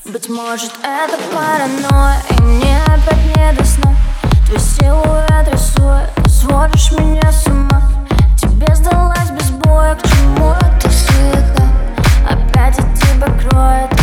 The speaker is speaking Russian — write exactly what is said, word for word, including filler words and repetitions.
Быть может, это паранойя, и мне опять не до сна. Твой силуэт рисует, сводишь меня с ума. Тебе сдалась без боя, к чему эта суета? Опять от тебя кроет.